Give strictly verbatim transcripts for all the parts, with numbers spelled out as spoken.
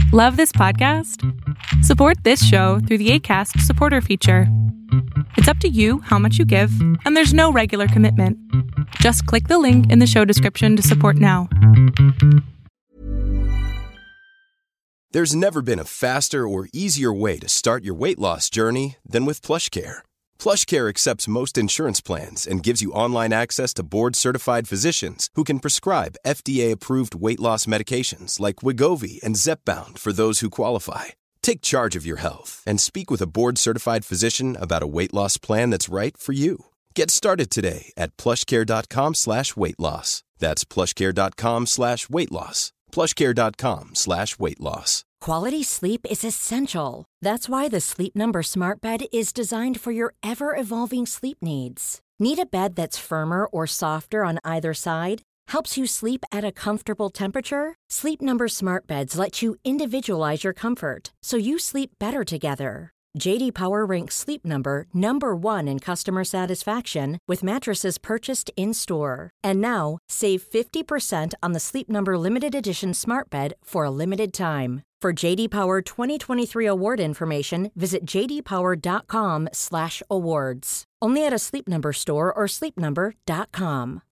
Love this podcast? Support this show through the Acast supporter feature. It's up to you how much you give, and there's no regular commitment. Just click the link in the show description to support now. There's never been a faster or easier way to start your weight loss journey than with PlushCare. PlushCare accepts most insurance plans and gives you online access to board-certified physicians who can prescribe F D A-approved weight loss medications like Wegovy and Zepbound for those who qualify. Take charge of your health and speak with a board-certified physician about a weight loss plan that's right for you. Get started today at plushcare.com slash weight loss. That's plushcare.com slash weight loss. plushcare.com slash weight loss. Quality sleep is essential. That's why the Sleep Number Smart Bed is designed for your ever-evolving sleep needs. Need a bed that's firmer or softer on either side? Helps you sleep at a comfortable temperature? Sleep Number Smart Beds let you individualize your comfort, so you sleep better together. J D Power ranks Sleep Number number one in customer satisfaction with mattresses purchased in-store. And now, save fifty percent on the Sleep Number Limited Edition Smart Bed for a limited time. For J D Power twenty twenty-three award information, visit jdpower.com slash awards. Only at a Sleep Number store or sleep number dot com.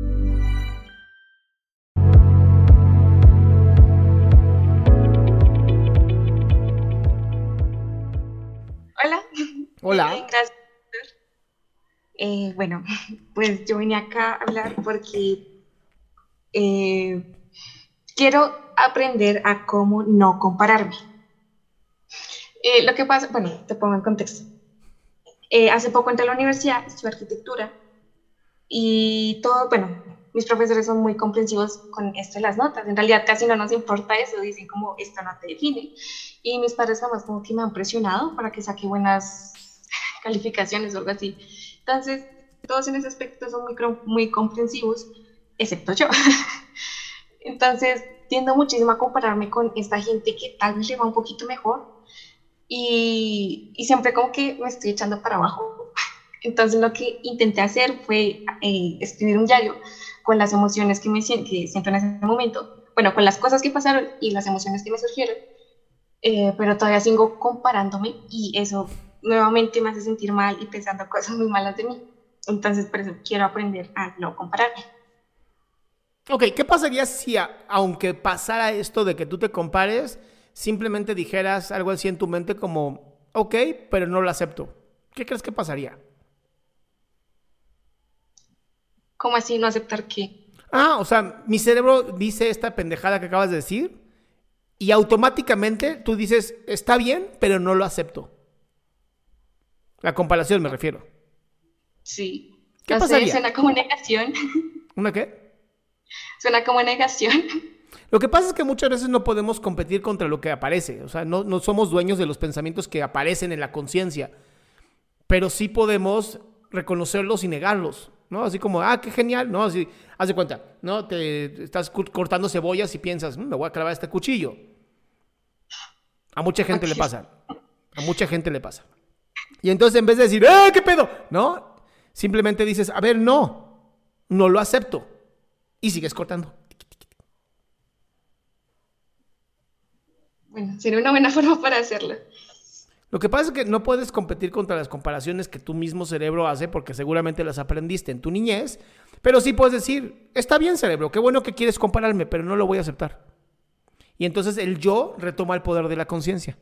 Hola. Hola. Bien, gracias. Eh, bueno, pues yo vine acá a hablar porque eh, quiero aprender a cómo no compararme. Eh, lo que pasa, bueno, te pongo en contexto. Eh, hace poco entré a la universidad, estudié arquitectura y todo, bueno, mis profesores son muy comprensivos con esto de las notas. En realidad casi no nos importa eso, dicen como esto no te define. Y mis padres jamás como que me han presionado para que saque buenas calificaciones o algo así. Entonces, todos en ese aspecto son muy, muy comprensivos, excepto yo. Entonces, tiendo muchísimo a compararme con esta gente que tal vez le va un poquito mejor y, y siempre como que me estoy echando para abajo. Entonces, lo que intenté hacer fue eh, escribir un diario con las emociones que, me, que siento en ese momento, bueno, con las cosas que pasaron y las emociones que me surgieron. Eh, pero todavía sigo comparándome y eso nuevamente me hace sentir mal y pensando cosas muy malas de mí. Entonces, por eso quiero aprender a no compararme. Ok, ¿qué pasaría si, a, aunque pasara esto de que tú te compares, simplemente dijeras algo así en tu mente como, ok, pero no lo acepto? ¿Qué crees que pasaría? ¿Cómo así no aceptar qué? Ah, o sea, mi cerebro dice esta pendejada que acabas de decir y automáticamente tú dices, está bien, pero no lo acepto. La comparación me refiero. Sí. ¿Qué no pasaría? Sé, suena como negación. ¿Una qué? Suena como negación. Lo que pasa es que muchas veces no podemos competir contra lo que aparece. O sea, no, no somos dueños de los pensamientos que aparecen en la conciencia. Pero sí podemos reconocerlos y negarlos, ¿no? Así como, ah, qué genial, ¿no? Así, haz de cuenta, ¿no? Te estás cortando cebollas y piensas, mmm, me voy a clavar este cuchillo. A mucha gente okay. le pasa. A mucha gente le pasa. Y entonces en vez de decir, ¡eh, qué pedo! ¿No? Simplemente dices, a ver, no, no lo acepto. Y sigues cortando. Bueno, sería una buena forma para hacerlo. Lo que pasa es que no puedes competir contra las comparaciones que tu mismo cerebro hace porque seguramente las aprendiste en tu niñez, pero sí puedes decir, está bien cerebro, qué bueno que quieres compararme, pero no lo voy a aceptar. Y entonces el yo retoma el poder de la conciencia.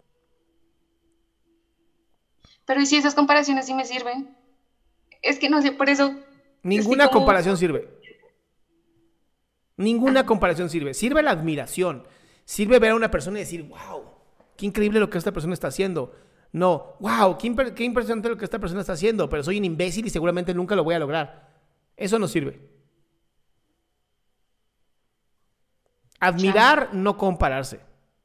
Pero ¿y si esas comparaciones sí me sirven? Es que no sé, por eso... Ninguna como... comparación sirve. Ninguna ah. comparación sirve. Sirve la admiración. Sirve ver a una persona y decir, wow, qué increíble lo que esta persona está haciendo. No, wow, qué, imp- qué impresionante lo que esta persona está haciendo, pero soy un imbécil y seguramente nunca lo voy a lograr. Eso no sirve. Admirar, Chale. No compararse.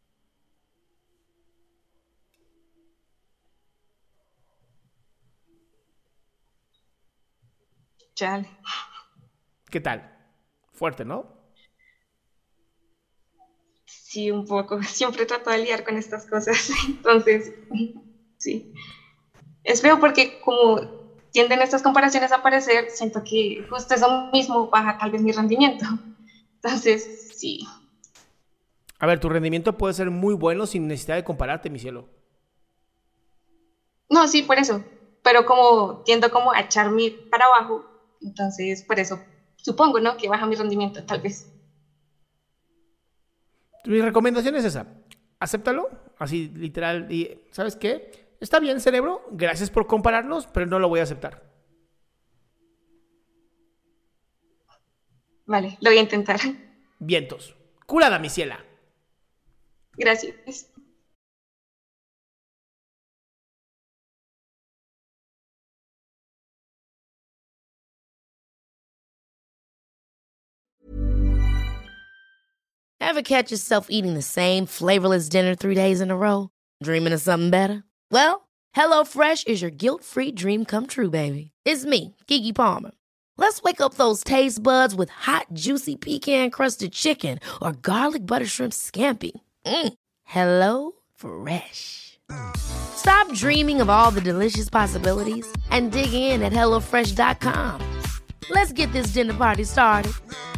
Chale. ¿Qué tal? Fuerte, ¿no? Sí, un poco. Siempre trato de lidiar con estas cosas. Entonces, sí. Es feo porque como tienden estas comparaciones a aparecer, siento que justo eso mismo baja tal vez mi rendimiento. Entonces, sí. A ver, tu rendimiento puede ser muy bueno sin necesidad de compararte, mi cielo. No, sí, por eso. Pero como tiendo como a echarme para abajo, entonces por eso supongo, ¿no? Que baja mi rendimiento, tal vez. Mi recomendación es esa. Acéptalo, así literal. Y ¿sabes qué? Está bien, cerebro. Gracias por compararnos, pero no lo voy a aceptar. Vale, lo voy a intentar. Vientos. Curada, mi ciela. Gracias. Ever catch yourself eating the same flavorless dinner three days in a row? Dreaming of something better? Well, HelloFresh is your guilt-free dream come true, baby. It's me, Keke Palmer. Let's wake up those taste buds with hot, juicy pecan-crusted chicken or garlic butter shrimp scampi. Mm. Hello Fresh. Stop dreaming of all the delicious possibilities and dig in at hello fresh dot com. Let's get this dinner party started.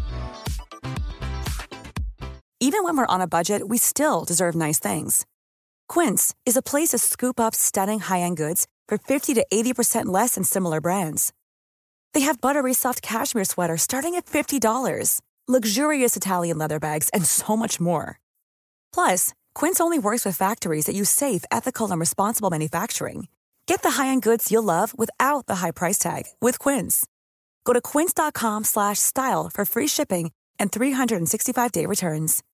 Even when we're on a budget, we still deserve nice things. Quince is a place to scoop up stunning high-end goods for fifty to eighty percent less than similar brands. They have buttery soft cashmere sweaters starting at fifty dollars, luxurious Italian leather bags, and so much more. Plus, Quince only works with factories that use safe, ethical, and responsible manufacturing. Get the high-end goods you'll love without the high price tag with Quince. Go to quince dot com slash style for free shipping and three sixty-five day returns.